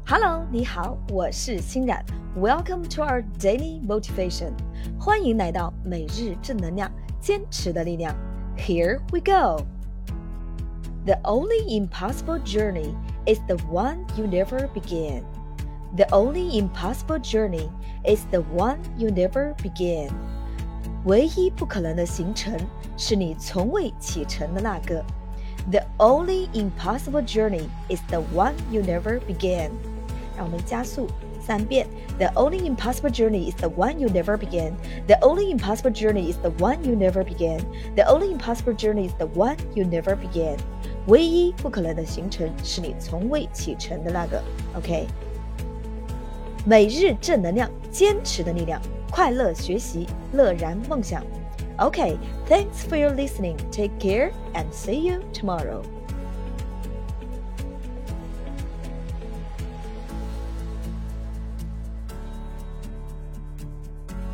Hello， 你好，我是欣然。Welcome to our daily motivation。欢迎来到每日正能量，坚持的力量。Here we go. The only impossible journey is the one you never began. The only impossible journey is the one you never began. 唯一不可能的行程是你从未启程的那个。The only impossible journey is the one you never began. 让我们加速3遍。The only impossible journey is the one you never began. The only impossible journey is the one you never began. The only impossible journey is the one you never began. 唯一不可能的行程是你从未启程的那个。OK。每日正能量，坚持的力量，快乐学习，乐然梦想。Okay, thanks for your listening. Take care and see you tomorrow.